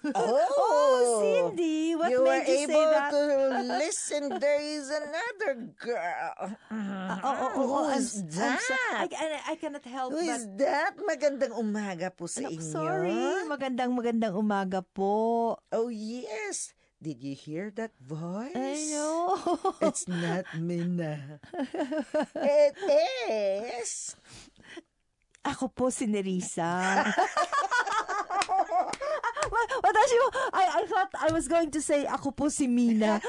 Oh, Cindy, what you were made you say able that? to listen. There is another girl. Who is I'm that? I cannot help Who but... is that? Magandang umaga po sa inyo. Sorry, magandang umaga po. Oh, yes. Did you hear that voice? I know. It's not Mina. It is. Ako po si Nerissa. Watashi mo, I thought I was going to say, ako po si Mina.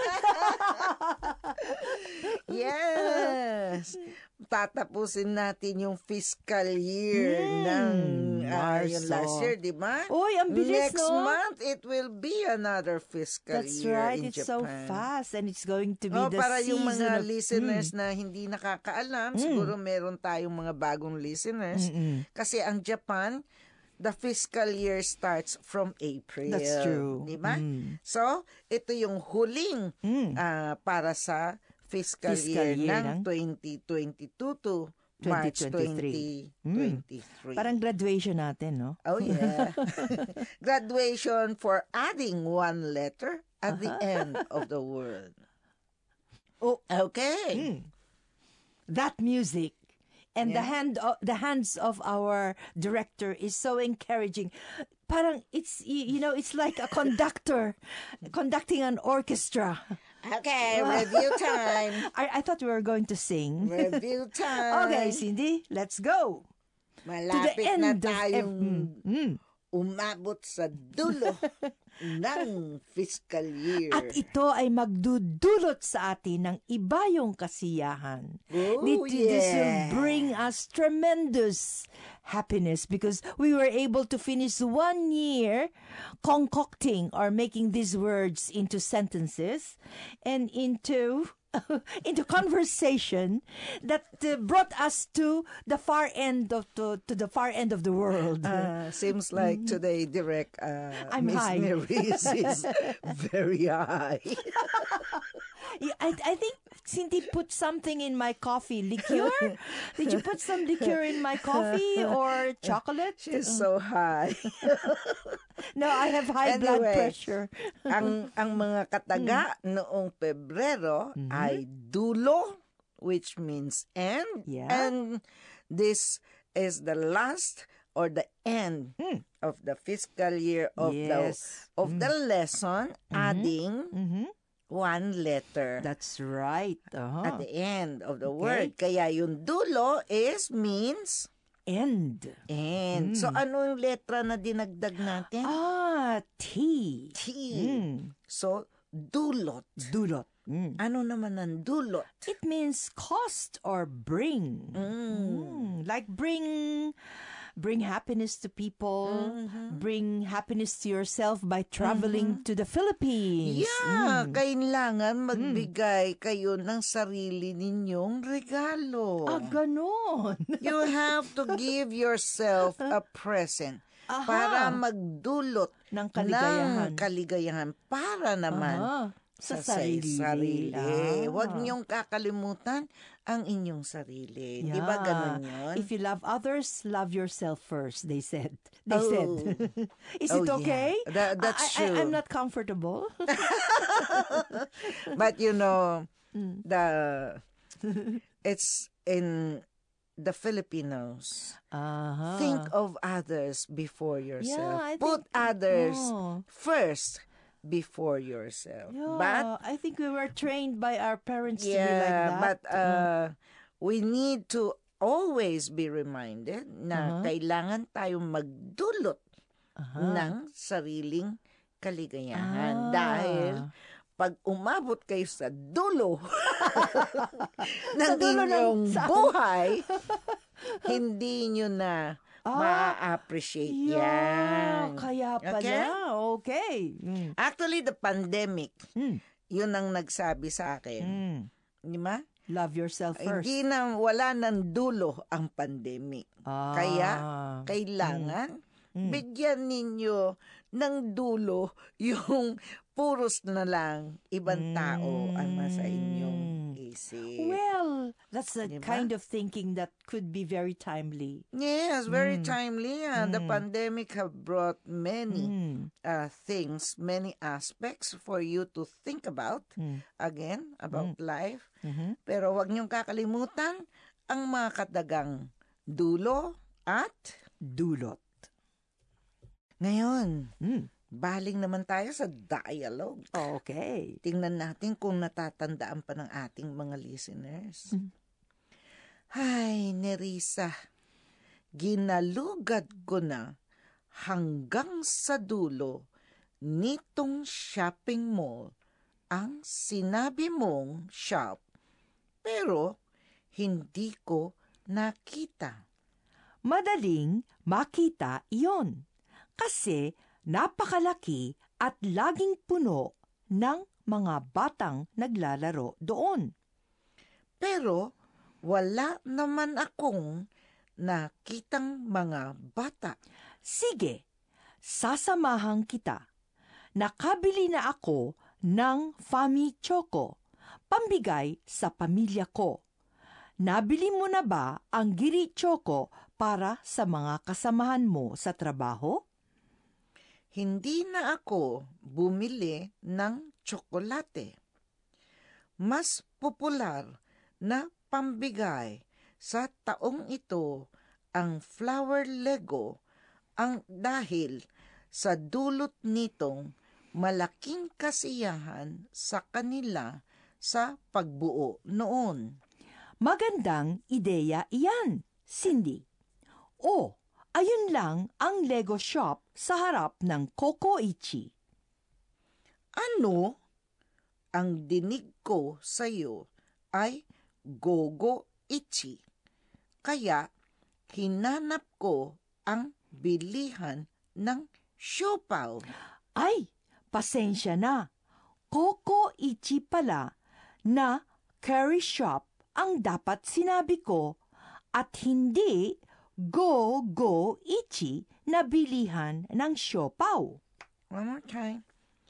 Yes. Tatapusin natin yung fiscal year ng yung last year, di ba? Uy, ang bilis, Next month, it will be another fiscal That's year right. in It's Japan. so fast and it's going to be the para yung season mga of... listeners na hindi nakakaalam, siguro meron tayong mga bagong listeners. Kasi ang Japan, the fiscal year starts from April. That's true. Di ba? So, ito yung huling para sa fiscal year ng 2022 to March 2023. Parang graduation natin, no? Oh, yeah. Graduation for adding one letter at the end of the word. Oh, okay. That music and the hands of our director is so encouraging. Parang it's it's like a conductor conducting an orchestra. Okay, review time. I thought we were going to sing. Review time. Okay, Cindy, let's go. Malapit na tayong umabot sa dulo ng fiscal year. At ito ay magdudulot sa atin ng iba yung kasiyahan. Oh, This will bring us tremendous happiness because we were able to finish 1 year concocting or making these words into sentences and into conversation that brought us to the far end of the far end of the world. Seems like today, Direct, I'm Miss high. Maris is very high. I think Cindy put something in my coffee. Liqueur? Did you put some liqueur in my coffee or chocolate? She's so high. No, I have high blood pressure. ang mga kataga noong Pebrero ay dulo, which means end. Yeah. And this is the last or the end of the fiscal year of the lesson, adding one letter. That's right. At the end of the word. Kaya yung dulo means end. end. So, ano yung letra na dinagdag natin? T. T. So, dulot. Dulot. Ano naman ang dulot? It means cost or bring. Like bring happiness to people, bring happiness to yourself by traveling to the Philippines. Yeah, kailangan magbigay kayo ng sarili ninyong regalo. Ganon. You have to give yourself a present para magdulot ng kaligayahan para naman sa sarili. Huwag niyong kakalimutan ang inyong sarili. Di ba ganun yun? If you love others, love yourself first, they said. Is it okay? Yeah. That's true. I'm not comfortable. But you know, it's in the Filipinos. Think of others before yourself. Yeah, Put others first before yourself. Yeah, But I think we were trained by our parents to be like that. But we need to always be reminded na kailangan tayong magdulot ng sariling kaligayahan. Dahil pag umabot kayo sa dulo ng inyong buhay, hindi nyo na ma-appreciate yan. Kaya pala. Okay. Actually, the pandemic, yun ang nagsabi sa akin. Di ba? Love yourself first. Wala ng dulo ang pandemic. Kaya, kailangan bigyan ninyo ng dulo yung puros na lang ibang tao ang nasa inyong isip. Well, that's the Diba? kind of thinking that could be very timely. Yes, very timely. The pandemic have brought many things, many aspects for you to think about, again, about life. Pero wag niyong kakalimutan ang mga kadagang dulo at Dulot. ngayon. Baling naman tayo sa dialogue. Okay. Tingnan natin kung natatandaan pa ng ating mga listeners. Hay, Nerissa, ginalugad ko na hanggang sa dulo nitong shopping mall ang sinabi mong shop, pero hindi ko nakita. Madaling makita iyon kasi napakalaki at laging puno ng mga batang naglalaro doon. Pero wala naman akong nakitang mga bata. Sige, sasamahan kita. Nakabili na ako ng Fami Choco, pambigay sa pamilya ko. Nabili mo na ba ang Giri Choco para sa mga kasamahan mo sa trabaho? Hindi na ako bumili ng tsokolate. Mas popular na pambigay sa taong ito ang flower Lego ang dahil sa dulot nitong malaking kasiyahan sa kanila sa pagbuo noon. Magandang ideya iyan, Cindy. O, ayun lang ang Lego shop sa harap ng Kokoichi. Ano? Ang dinig ko sa iyo ay Gogo-ichi. Kaya hinanap ko ang bilihan ng siopaw. Ay, pasensya na. Kokoichi pala na curry shop ang dapat sinabi ko at hindi Go-Go-ichi na bilihan ng siopaw. One more time.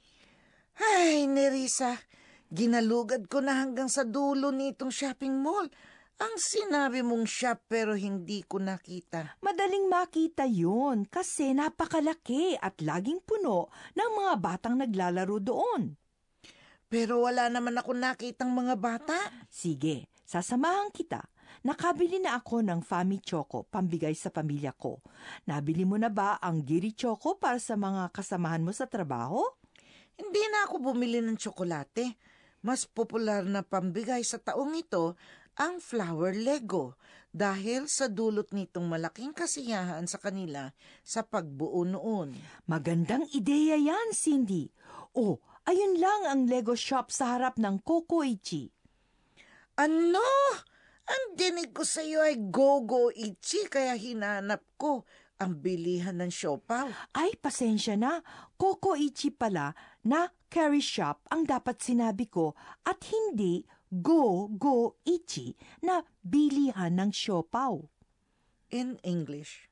Ay, Nerissa, ginalugad ko na hanggang sa dulo nitong shopping mall. Ang sinabi mong shop pero hindi ko nakita. Madaling makita yun kasi napakalaki at laging puno ng mga batang naglalaro doon. Pero wala naman ako nakitang mga bata. Sige, sasamahan kita. Nakabili na ako ng Fami Choco, pambigay sa pamilya ko. Nabili mo na ba ang Giri Choco para sa mga kasamahan mo sa trabaho? Hindi na ako bumili ng tsokolate. Mas popular na pambigay sa taong ito ang flower Lego dahil sa dulot nitong malaking kasiyahan sa kanila sa pagbuo noon. Magandang ideya yan, Cindy. Oh, ayun lang ang Lego shop sa harap ng Kokoichi. Ano? Ang dinig ko sa iyo ay Gogo-ichi kaya hinanap ko ang bilihan ng siopaw. Ay, pasensya na. Kokoichi pala na curry shop ang dapat sinabi ko at hindi Go-Go-ichi na bilihan ng siopaw. In English,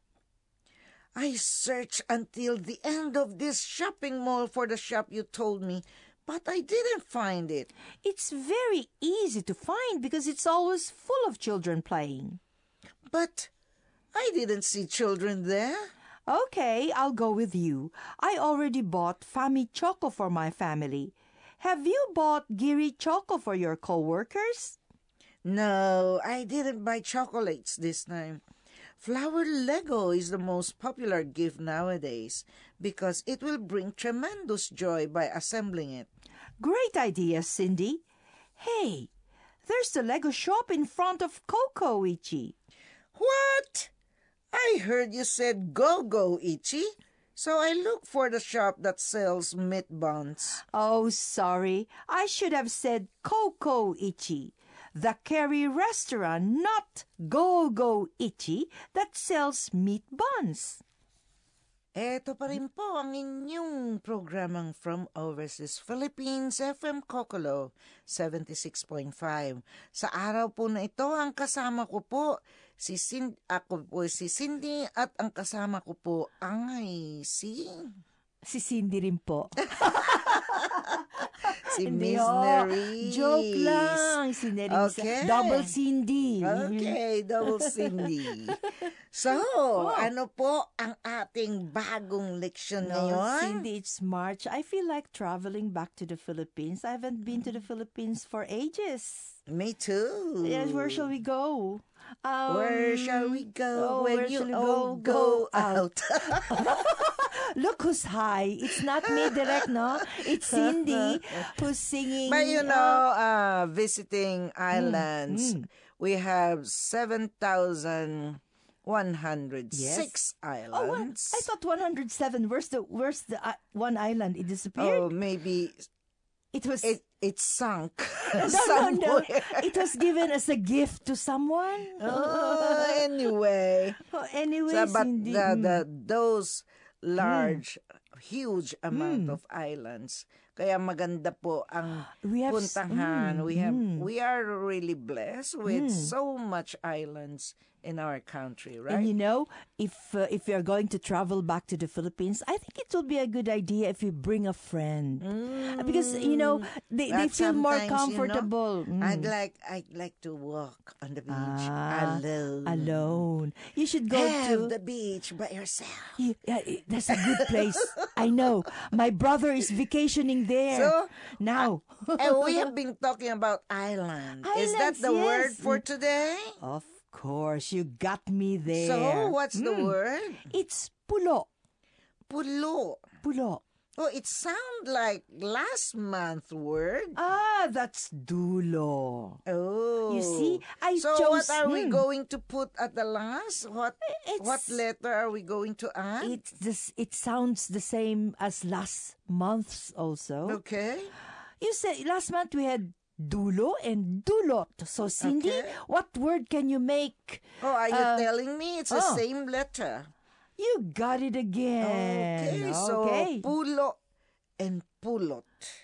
I searched until the end of this shopping mall for the shop you told me, but I didn't find it. It's very easy to find because it's always full of children playing. But I didn't see children there. Okay, I'll go with you. I already bought Fami Choco for my family. Have you bought Giri Choco for your co-workers? No, I didn't buy chocolates this time. Flower Lego is the most popular gift nowadays because it will bring tremendous joy by assembling it. Great idea, Cindy. Hey, there's the Lego shop in front of Kokoichi. What? I heard you said Go-Go-ichi, so I looked for the shop that sells meat buns. Oh, sorry. I should have said Kokoichi, the curry restaurant, not Go-Go-ichi that sells meat buns. Eto pa rin po ang inyong programang From Overseas Philippines, FM Kokolo 76.5. Sa araw po na ito, ang kasama ko po Ako po si Cindy at ang kasama ko po ay si Cindy rin po. Miss Nerys. Joke lang. Si Nerys. Okay. Double Cindy. Okay, double Cindy. So, ano po ang ating bagong leksyon ngayon? Cindy, it's March. I feel like traveling back to the Philippines. I haven't been to the Philippines for ages. Me too. Yes, where shall we go? Where shall we go when where you shall we all go out? Look who's high. It's not me direct, no? It's Cindy who's singing. But visiting islands, we have 7,106 islands. I thought 107. Where's the one island? It disappeared? Oh, maybe it was... It sunk No. somewhere. It was given as a gift to someone. Anyway. Anyway, But Cindy. those large, huge amount of islands, kaya maganda po ang puntahan. We are really blessed with so much islands in our country, right? And you know, if you're going to travel back to the Philippines, I think it will be a good idea if you bring a friend, because you know they feel more comfortable. I'd like to walk on the beach alone. Alone. You should go to the beach by yourself. That's a good place. I know. My brother is vacationing there. So now, and we have been talking about island. Is that the word for today? Of course, you got me there. So, what's the word? It's pulo. Pulo. Pulo. Oh, it sounds like last month's word. That's dulo. Oh. You see, So chose... what are we going to put at the last? What letter are we going to add? It sounds the same as last month's also. Okay. You said last month we had dulo and dulot. So, Cindy, what word can you make? Oh, are you telling me it's the same letter? You got it again. Okay, so pulo and pulot.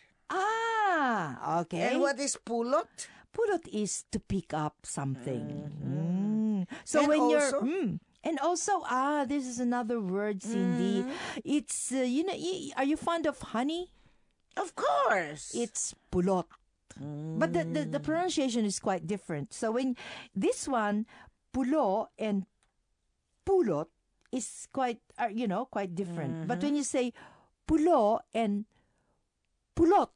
Okay. And what is pulot? Pulot is to pick up something. So And when also? and also, this is another word, Cindy. It's, are you fond of honey? Of course. It's pulot. But the pronunciation is quite different. So when this one, pulo and pulot, is quite different. But when you say pulo and pulot,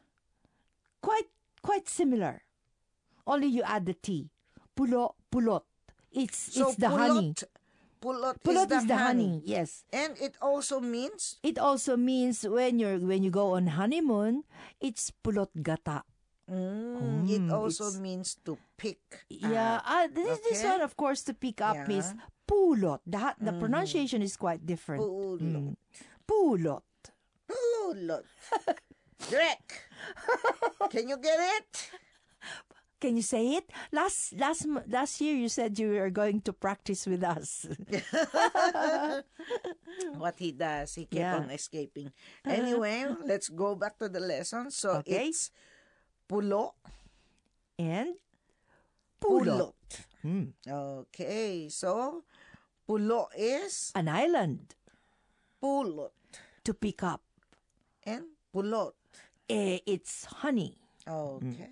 quite similar. Only you add the T. Pulo, pulot. It's the honey. Pulot is the honey. Yes. And it also means? It also means when you go on honeymoon, it's pulot gata. It also means to pick. This one, of course, to pick up is pulot. The pronunciation is quite different. Pulot. Pulot. Pulot. Drek. Can you get it? Can you say it? Last year you said you were going to practice with us. What he does, he kept on escaping. Anyway, let's go back to the lesson. So it's pulo and pulot. Okay, so pulo is an island. Pulot. To pick up. And pulot. It's honey. Okay.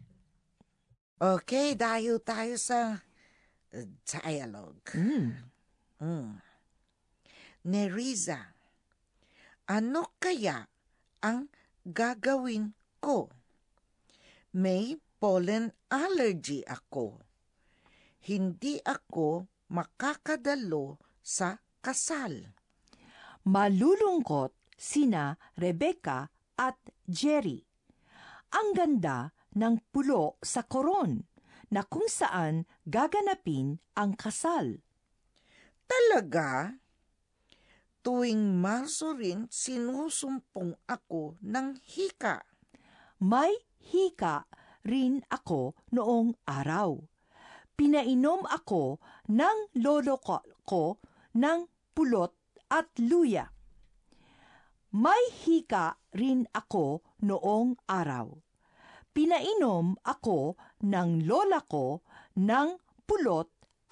Okay, tayo sa dialogue. Neriza, ano kaya ang gagawin ko? May pollen allergy ako. Hindi ako makakadalo sa kasal. Malulungkot sina Rebecca at Jerry. Ang ganda ng pulo sa koron na kung saan gaganapin ang kasal. Talaga? Tuwing Marso rin sinusumpong ako ng hika. May hika rin ako noong araw. Pinainom ako ng lolo ko ng pulot at luya. May hika rin ako noong araw. Pinainom ako ng lola ko ng pulot at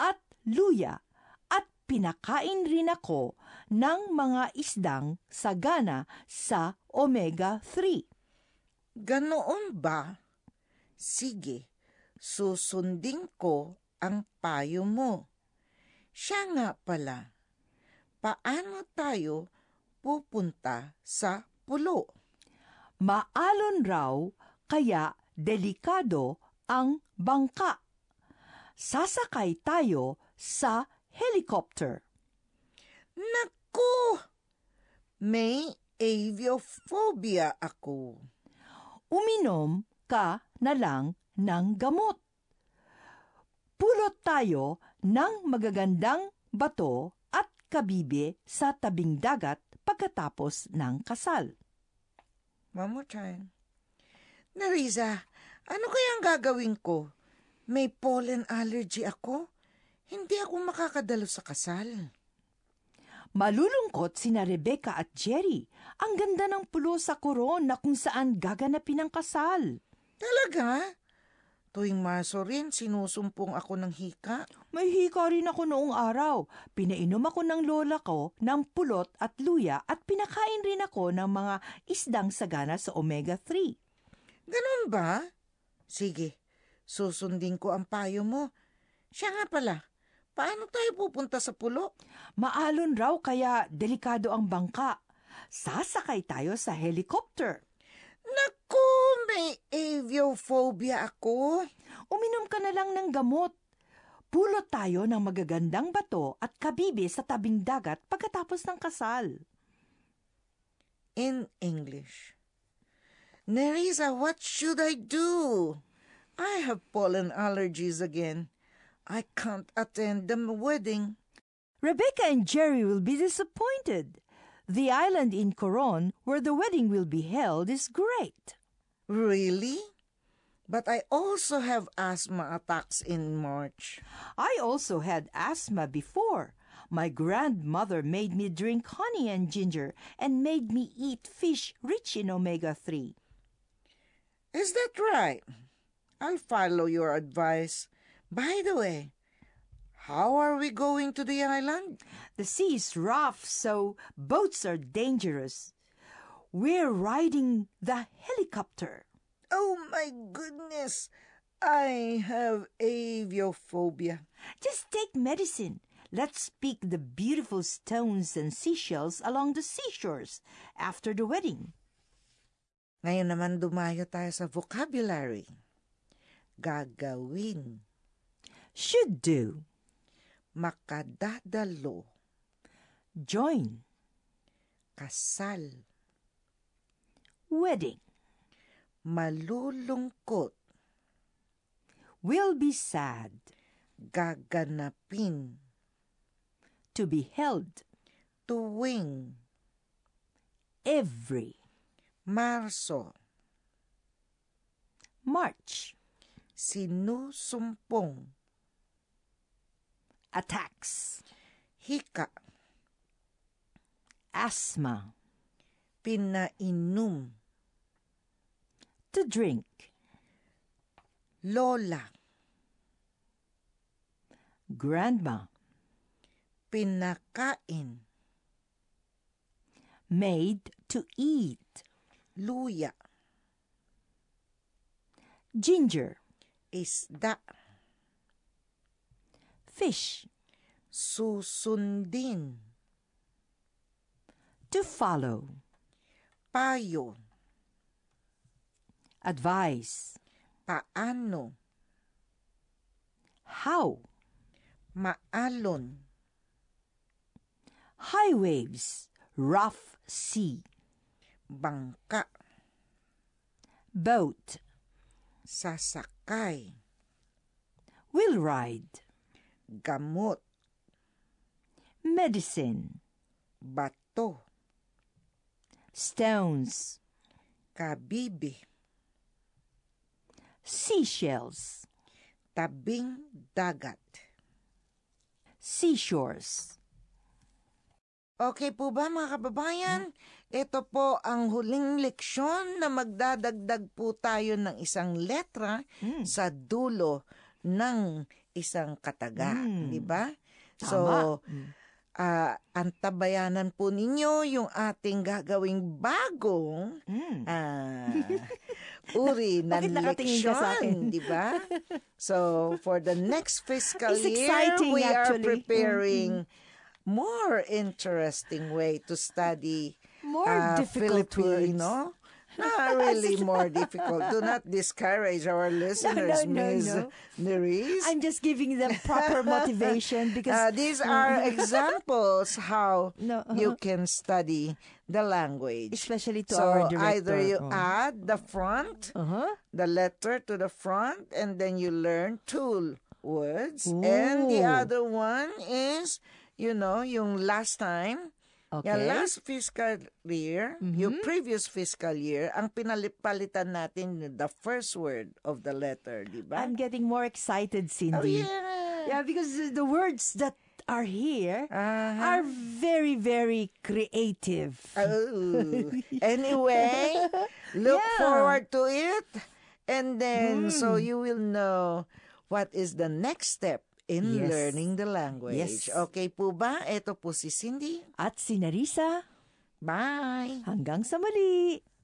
luya, at pinakain rin ako ng mga isdang sagana sa omega-3. Ganoon ba? Sige, susundin ko ang payo mo. Siya nga pala, paano tayo pupunta sa pulo? Maalon raw, kaya delikado ang bangka. Sasakay tayo sa helicopter. Naku! May aviophobia ako. Uminom ka na lang ng gamot. Pulot tayo ng magagandang bato at kabibe sa tabing dagat pagkatapos ng kasal. One more time. Nerissa, ano kayang gagawin ko? May pollen allergy ako. Hindi ako makakadalo sa kasal. Malulungkot sina Rebecca at Jerry. Ang ganda ng pulo sa Coron na kung saan gaganapin ang kasal. Talaga? Tuwing Marso rin, sinusumpong ako ng hika. May hika rin ako noong araw. Pinainom ako ng lola ko ng pulot at luya at pinakain rin ako ng mga isdang sagana sa omega-3. Ganun ba? Sige, susundin ko ang payo mo. Siya nga pala, paano tayo pupunta sa pulo? Maalon raw kaya delikado ang bangka. Sasakay tayo sa helicopter. Naku, may aviophobia ako. Uminom ka na lang ng gamot. Pulot tayo ng magagandang bato at kabibe sa tabing dagat pagkatapos ng kasal. In English. Nerissa, what should I do? I have pollen allergies again. I can't attend the wedding. Rebecca and Jerry will be disappointed. The island in Coron where the wedding will be held is great. Really? But I also have asthma attacks in March. I also had asthma before. My grandmother made me drink honey and ginger and made me eat fish rich in omega-3. Is that right? I'll follow your advice. By the way, how are we going to the island? The sea is rough, so boats are dangerous. We're riding the helicopter. Oh my goodness! I have aviophobia. Just take medicine. Let's pick the beautiful stones and seashells along the seashores after the wedding. Ngayon naman dumayo tayo sa vocabulary. Gagawin. Should do. Makadadalo. Join. Kasal. Wedding. Malulungkot. Will be sad. Gaganapin. To be held. Tuwing. Every. Marso. March. Sinusumpong. Attacks. Hika. Asthma. Pinainom. To drink. Lola. Grandma. Pinakain. Made to eat. Luya. Ginger. Isda. Fish. Susundin. To follow. Payo. Advice. Paano. How. Maalon. High waves. Rough sea. Bangka. Boat. Sasakay. Will ride. Gamot. Medicine. Bato. Stones. Kabibi. Seashells. Tabing dagat. Seashores. Okay po ba mga kababayan? Ito po ang huling leksyon na magdadagdag po tayo ng isang letra sa dulo ng isang kataga, di ba? So, antabayanan po ninyo yung ating gagawing bagong uri ng leksyon, di ba? So, for the next fiscal year, we are preparing more interesting way to study more difficult Filipino. words. Not really more difficult. Do not discourage our listeners, Ms. Nerys. I'm just giving them proper motivation because these are examples how you can study the language. Especially to our director. Either you add the front, the letter to the front, and then you learn two words. And the other one is, yung last time, yung last fiscal year, yung previous fiscal year, ang pinalipalitan natin the first word of the letter, di ba? I'm getting more excited, Cindy. Oh, yeah. Yeah, because the words that are here are very, very creative. Oh. Anyway, look forward to it. And then, so you will know what is the next step in learning the language. Yes. Okay po ba? Ito po si Cindy. At si Nerissa. Bye! Hanggang sa muli!